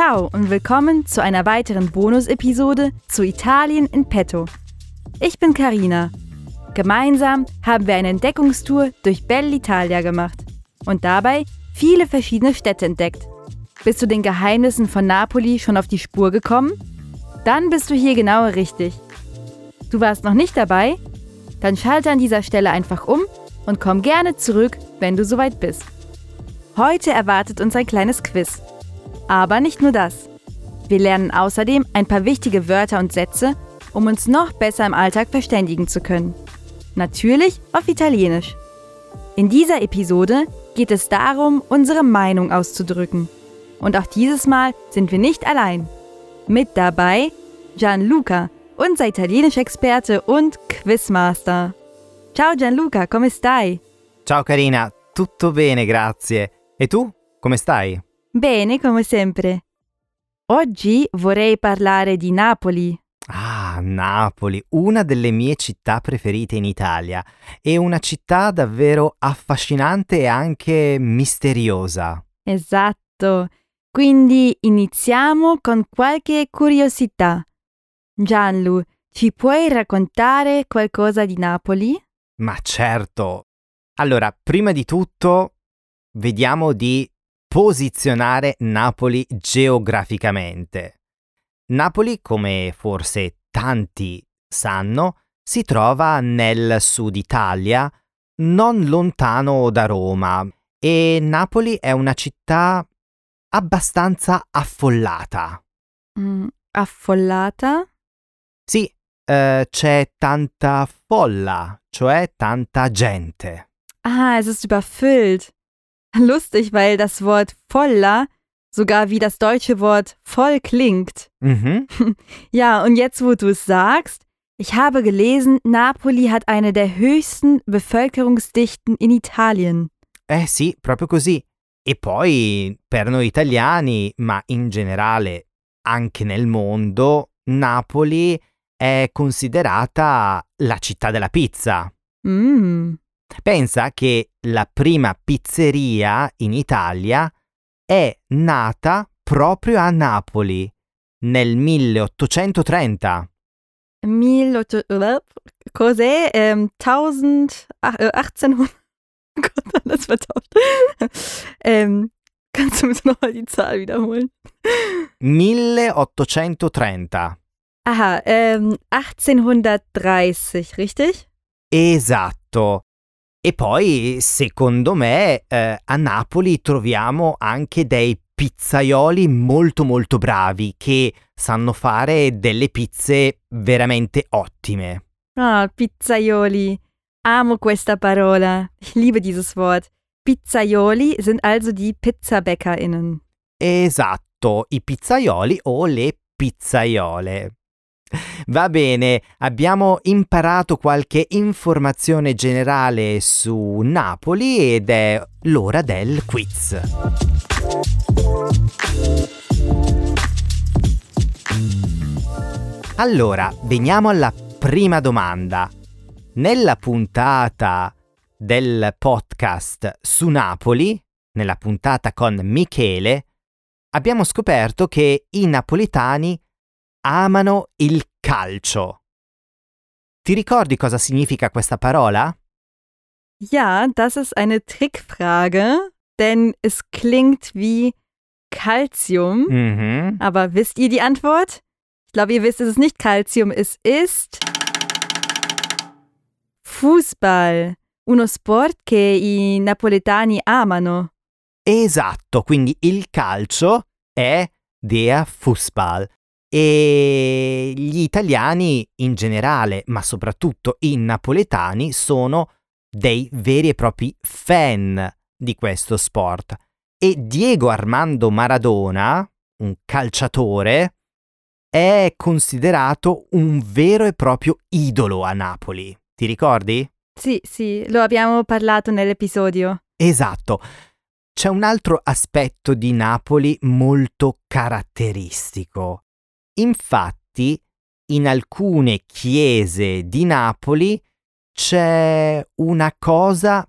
Ciao und willkommen zu einer weiteren Bonus-Episode zu Italien in petto. Ich bin Carina. Gemeinsam haben wir eine Entdeckungstour durch Bell'Italia gemacht und dabei viele verschiedene Städte entdeckt. Bist du den Geheimnissen von Napoli schon auf die Spur gekommen? Dann bist du hier genau richtig. Du warst noch nicht dabei? Dann schalte an dieser Stelle einfach um und komm gerne zurück, wenn du soweit bist. Heute erwartet uns ein kleines Quiz. Aber nicht nur das. Wir lernen außerdem ein paar wichtige Wörter und Sätze, um uns noch besser im Alltag verständigen zu können. Natürlich auf Italienisch. In dieser Episode geht es darum, unsere Meinung auszudrücken. Und auch dieses Mal sind wir nicht allein. Mit dabei Gianluca, unser Italienisch-Experte und Quizmaster. Ciao Gianluca, come stai? Ciao Carina, tutto bene, grazie. E tu, come stai? Bene, come sempre. Oggi vorrei parlare di Napoli. Ah, Napoli, una delle mie città preferite in Italia. È una città davvero affascinante e anche misteriosa. Esatto. Quindi iniziamo con qualche curiosità. Gianlu, ci puoi raccontare qualcosa di Napoli? Ma certo. Allora, prima di tutto, vediamo di posizionare Napoli geograficamente. Napoli, come forse tanti sanno, si trova nel sud Italia, non lontano da Roma, e Napoli è una città abbastanza affollata. Affollata? Sì, c'è tanta folla, cioè tanta gente. Ah, es ist überfüllt. Lustig, weil das Wort Folla sogar wie das deutsche Wort voll klingt. Mhm. Ja, und jetzt, wo du es sagst, ich habe gelesen, Napoli hat eine der höchsten Bevölkerungsdichten in Italien. Sì, proprio così. E poi, per noi italiani, ma in generale anche nel mondo, Napoli è considerata la città della pizza. Pensa che la prima pizzeria in Italia è nata proprio a Napoli nel 1830. Cos'è? 1800. Gott, alles vertauscht. Kannst du bitte nochmal die Zahl wiederholen? 1830. Aha, 1830, richtig? Esatto. E poi, secondo me, a Napoli troviamo anche dei pizzaioli molto molto bravi che sanno fare delle pizze veramente ottime. Ah, Pizzaioli. Amo questa parola. Ich liebe dieses Wort. Pizzaioli sind also die PizzabäckerInnen. Esatto, i pizzaioli o le pizzaiole. Va bene, abbiamo imparato qualche informazione generale su Napoli ed è l'ora del quiz. Allora, veniamo alla prima domanda. Nella puntata del podcast su Napoli, nella puntata con Michele, abbiamo scoperto che i napoletani amano il calcio. Ti ricordi cosa significa questa parola? Ja, das ist eine Trickfrage, denn es klingt wie Calcium. Aber wisst ihr die Antwort? Ich glaube, ihr wisst, es ist nicht Calcium, es ist Fußball, uno sport che i napoletani amano. Esatto, quindi il calcio è der Fußball. E gli italiani in generale, ma soprattutto i napoletani, sono dei veri e propri fan di questo sport. E Diego Armando Maradona, un calciatore, è considerato un vero e proprio idolo a Napoli. Ti ricordi? Sì, lo abbiamo parlato nell'episodio. Esatto. C'è un altro aspetto di Napoli molto caratteristico. Infatti, in alcune chiese di Napoli c'è una cosa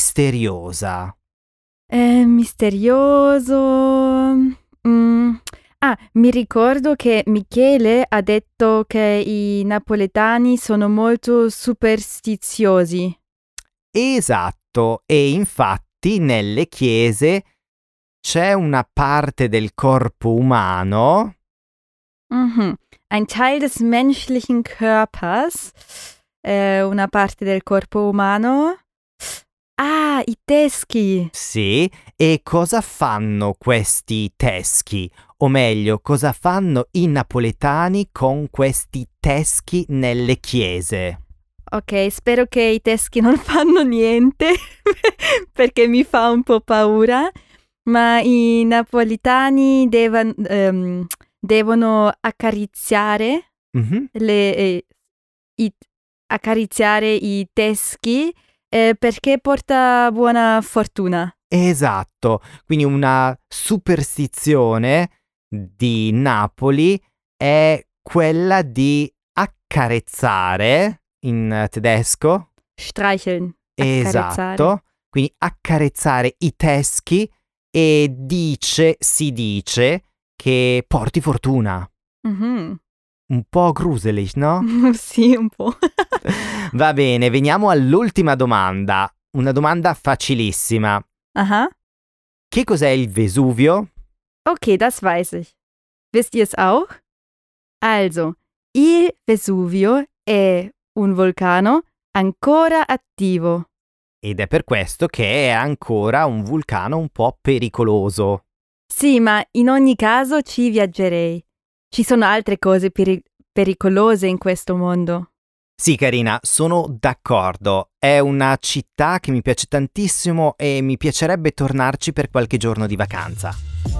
misteriosa. Misterioso. Mi ricordo che Michele ha detto che i napoletani sono molto superstiziosi. Esatto, e infatti nelle chiese c'è una parte del corpo umano. Mhm. Ein Teil des menschlichen Körpers, una parte del corpo umano. I teschi. Sì, e cosa fanno questi teschi? O meglio, cosa fanno i napoletani con questi teschi nelle chiese? Ok, spero che i teschi non fanno niente perché mi fa un po' paura, ma i napoletani devono accarezzare Mhm. accarezzare i teschi perché porta buona fortuna. Esatto, quindi una superstizione di Napoli è quella di accarezzare in tedesco. Streicheln, accarezzare. Esatto, quindi accarezzare i teschi e si dice che porti fortuna. Mhm. Un po' gruselig, no? Sì, un po'. Va bene, veniamo all'ultima domanda. Una domanda facilissima. Aha. Che cos'è il Vesuvio? Okay, das weiß ich. Wisst ihr es auch? Also, il Vesuvio è un vulcano ancora attivo. Ed è per questo che è ancora un vulcano un po' pericoloso. Sì, ma in ogni caso ci viaggerei. Ci sono altre cose pericolose in questo mondo. Sì, Carina, sono d'accordo. È una città che mi piace tantissimo e mi piacerebbe tornarci per qualche giorno di vacanza.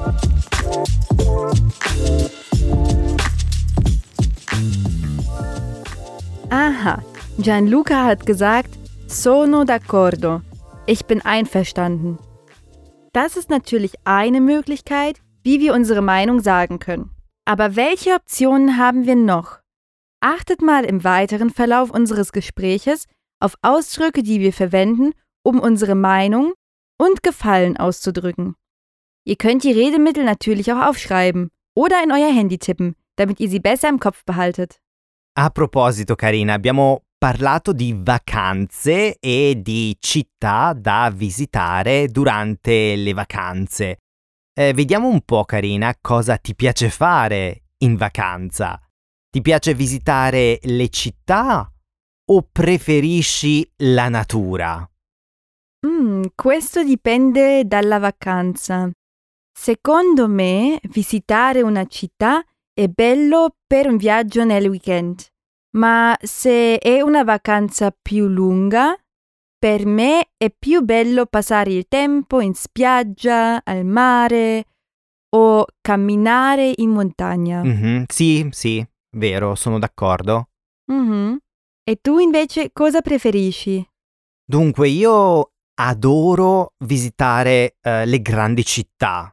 Aha, Gianluca hat gesagt, sono d'accordo. Ich bin einverstanden. Das ist natürlich eine Möglichkeit, wie wir unsere Meinung sagen können. Aber welche Optionen haben wir noch? Achtet mal im weiteren Verlauf unseres Gespräches auf Ausdrücke, die wir verwenden, um unsere Meinung und Gefallen auszudrücken. Ihr könnt die Redemittel natürlich auch aufschreiben oder in euer Handy tippen, damit ihr sie besser im Kopf behaltet. A proposito, Carina, abbiamo parlato di vacanze e di città da visitare durante le vacanze. Vediamo un po', Carina, cosa ti piace fare in vacanza. Ti piace visitare le città o preferisci la natura? Questo dipende dalla vacanza. Secondo me, visitare una città è bello per un viaggio nel weekend, ma se è una vacanza più lunga, per me è più bello passare il tempo in spiaggia, al mare o camminare in montagna. Sì, vero, sono d'accordo. E tu invece cosa preferisci? Dunque, io adoro visitare le grandi città.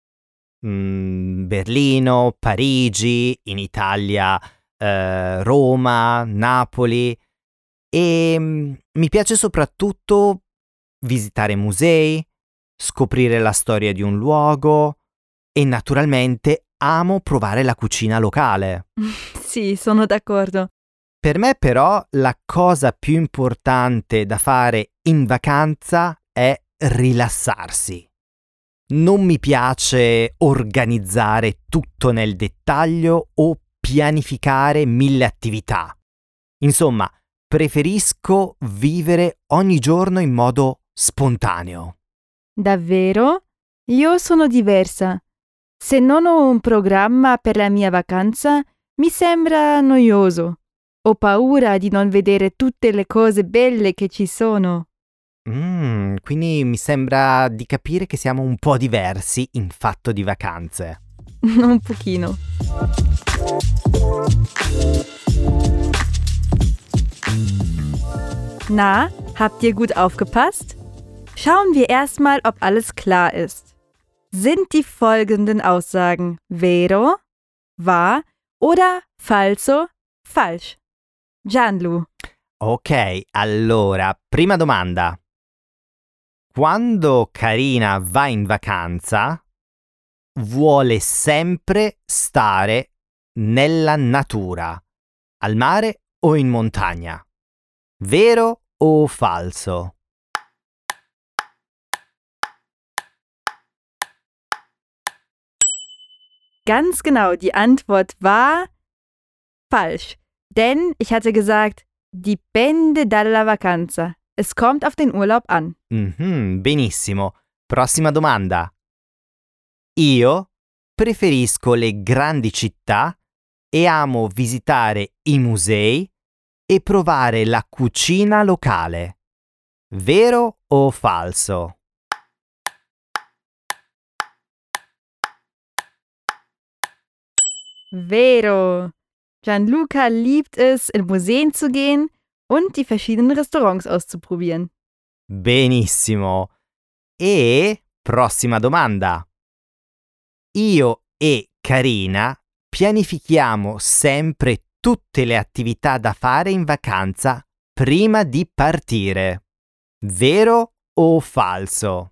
Berlino, Parigi, in Italia Roma, Napoli e mi piace soprattutto visitare musei, scoprire la storia di un luogo e naturalmente amo provare la cucina locale. Sì, sono d'accordo. Per me però la cosa più importante da fare in vacanza è rilassarsi. Non mi piace organizzare tutto nel dettaglio o pianificare 1000 attività. Insomma, preferisco vivere ogni giorno in modo spontaneo. Davvero? Io sono diversa. Se non ho un programma per la mia vacanza, mi sembra noioso. Ho paura di non vedere tutte le cose belle che ci sono. Quindi mi sembra di capire che siamo un po' diversi in fatto di vacanze. Un pochino. Na, habt ihr gut aufgepasst? Schauen wir erstmal, ob alles klar ist. Sind die folgenden Aussagen vero, wahr oder falso, falsch? Gianlu. Ok, allora, prima domanda. Quando Carina va in vacanza, vuole sempre stare nella natura, al mare o in montagna. Vero o falso? Ganz genau, die Antwort war falsch. Denn ich hatte gesagt, dipende dalla vacanza. Es kommt auf den Urlaub an. Benissimo. Prossima domanda. Io preferisco le grandi città e amo visitare i musei e provare la cucina locale. Vero o falso? Vero. Gianluca liebt es, in Museen zu gehen und die verschiedenen Restaurants auszuprobieren. Benissimo. E prossima domanda. Io e Carina pianifichiamo sempre tutte le attività da fare in vacanza prima di partire. Vero o falso?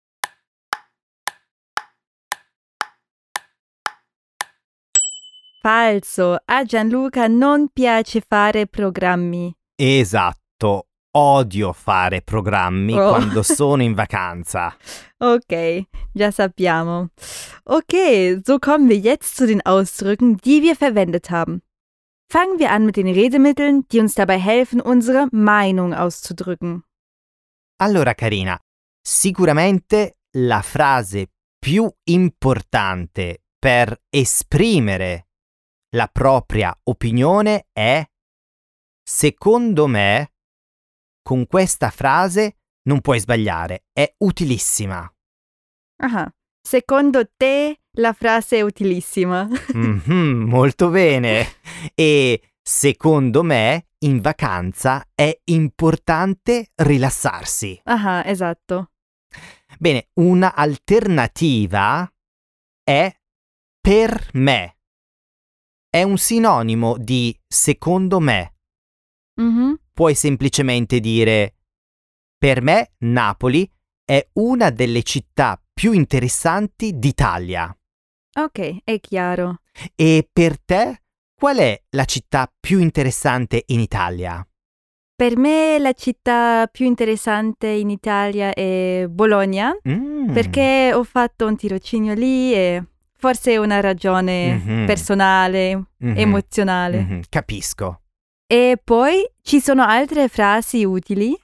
Falso. A Gianluca non piace fare programmi. Esatto. Odio fare programmi quando sono in vacanza. Okay, già sappiamo. Okay, so kommen wir jetzt zu den Ausdrücken, die wir verwendet haben. Fangen wir an mit den Redemitteln, die uns dabei helfen, unsere Meinung auszudrücken. Allora, Carina, sicuramente la frase più importante per esprimere la propria opinione è secondo me. Con questa frase non puoi sbagliare, è utilissima. Aha, secondo te la frase è utilissima. Molto bene. E secondo me in vacanza è importante rilassarsi. Aha, esatto. Bene, una alternativa è per me. È un sinonimo di secondo me. Puoi semplicemente dire: per me Napoli è una delle città più interessanti d'Italia. Ok, è chiaro. E per te qual è la città più interessante in Italia? Per me la città più interessante in Italia è Bologna, perché ho fatto un tirocinio lì e forse è una ragione personale, emozionale. Capisco. E poi ci sono altre frasi utili?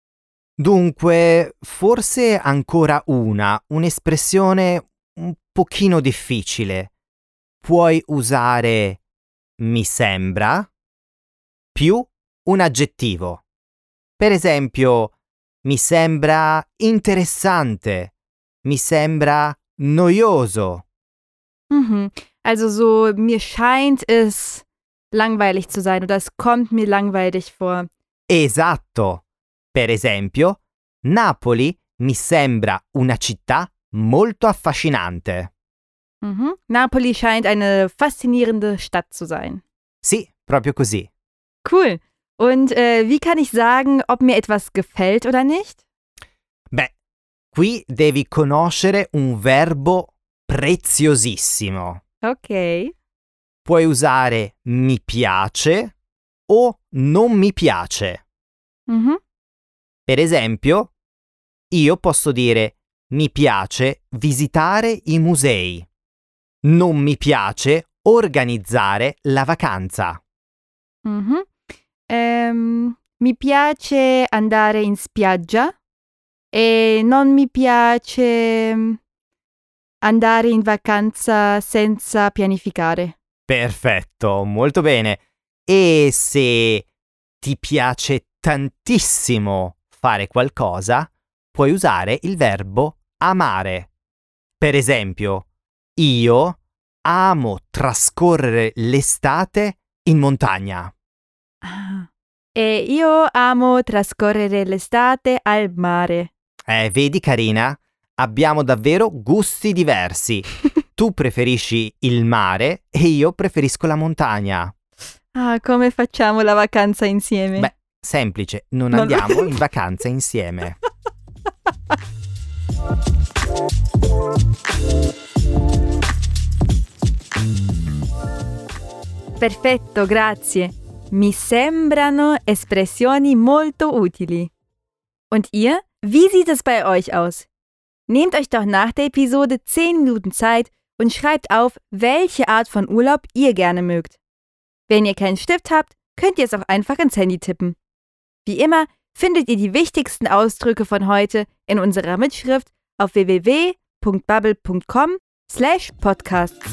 Dunque, forse ancora un'espressione un pochino difficile. Puoi usare mi sembra più un aggettivo. Per esempio, mi sembra interessante, mi sembra noioso. Also so, mir scheint es langweilig zu sein oder es kommt mir langweilig vor. Esatto. Per esempio, Napoli mi sembra una città molto affascinante. Napoli scheint eine faszinierende Stadt zu sein. Sì, proprio così. Cool. Und wie kann ich sagen, ob mir etwas gefällt oder nicht? Beh, qui devi conoscere un verbo preziosissimo. Ok. Puoi usare mi piace o non mi piace. Per esempio, io posso dire mi piace visitare i musei. Non mi piace organizzare la vacanza. Mi piace andare in spiaggia e non mi piace andare in vacanza senza pianificare. Perfetto, molto bene. E se ti piace tantissimo fare qualcosa, puoi usare il verbo amare. Per esempio, io amo trascorrere l'estate in montagna. E io amo trascorrere l'estate al mare. Vedi, Carina? Abbiamo davvero gusti diversi. Tu preferisci il mare e io preferisco la montagna. Ah, come facciamo la vacanza insieme? Beh, semplice, non andiamo in vacanza insieme. Perfetto, grazie. Mi sembrano espressioni molto utili. Und ihr? Wie sieht es bei euch aus? Nehmt euch doch nach der Episode 10 Minuten Zeit und schreibt auf, welche Art von Urlaub ihr gerne mögt. Wenn ihr keinen Stift habt, könnt ihr es auch einfach ins Handy tippen. Wie immer findet ihr die wichtigsten Ausdrücke von heute in unserer Mitschrift auf www.bubble.com/podcasts.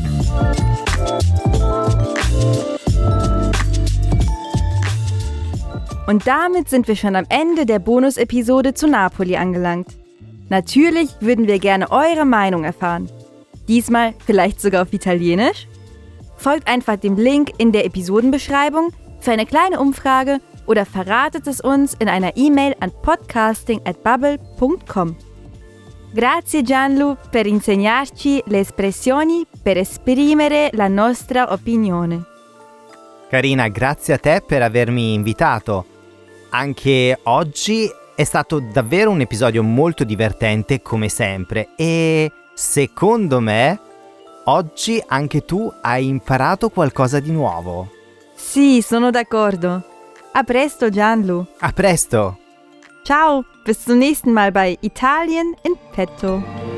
Und damit sind wir schon am Ende der Bonus-Episode zu Napoli angelangt. Natürlich würden wir gerne eure Meinung erfahren. Diesmal vielleicht sogar auf Italienisch? Folgt einfach dem Link in der Episodenbeschreibung für eine kleine Umfrage oder verratet es uns in einer E-Mail an podcasting@bubble.com. Grazie Gianlu per insegnarci le espressioni per esprimere la nostra opinione. Carina, grazie a te per avermi invitato. Anche oggi è stato davvero un episodio molto divertente, come sempre, e secondo me oggi anche tu hai imparato qualcosa di nuovo. Sì, sono d'accordo. A presto, Gianlu. A presto! Ciao, bis zum nächsten Mal bei Italien in Petto.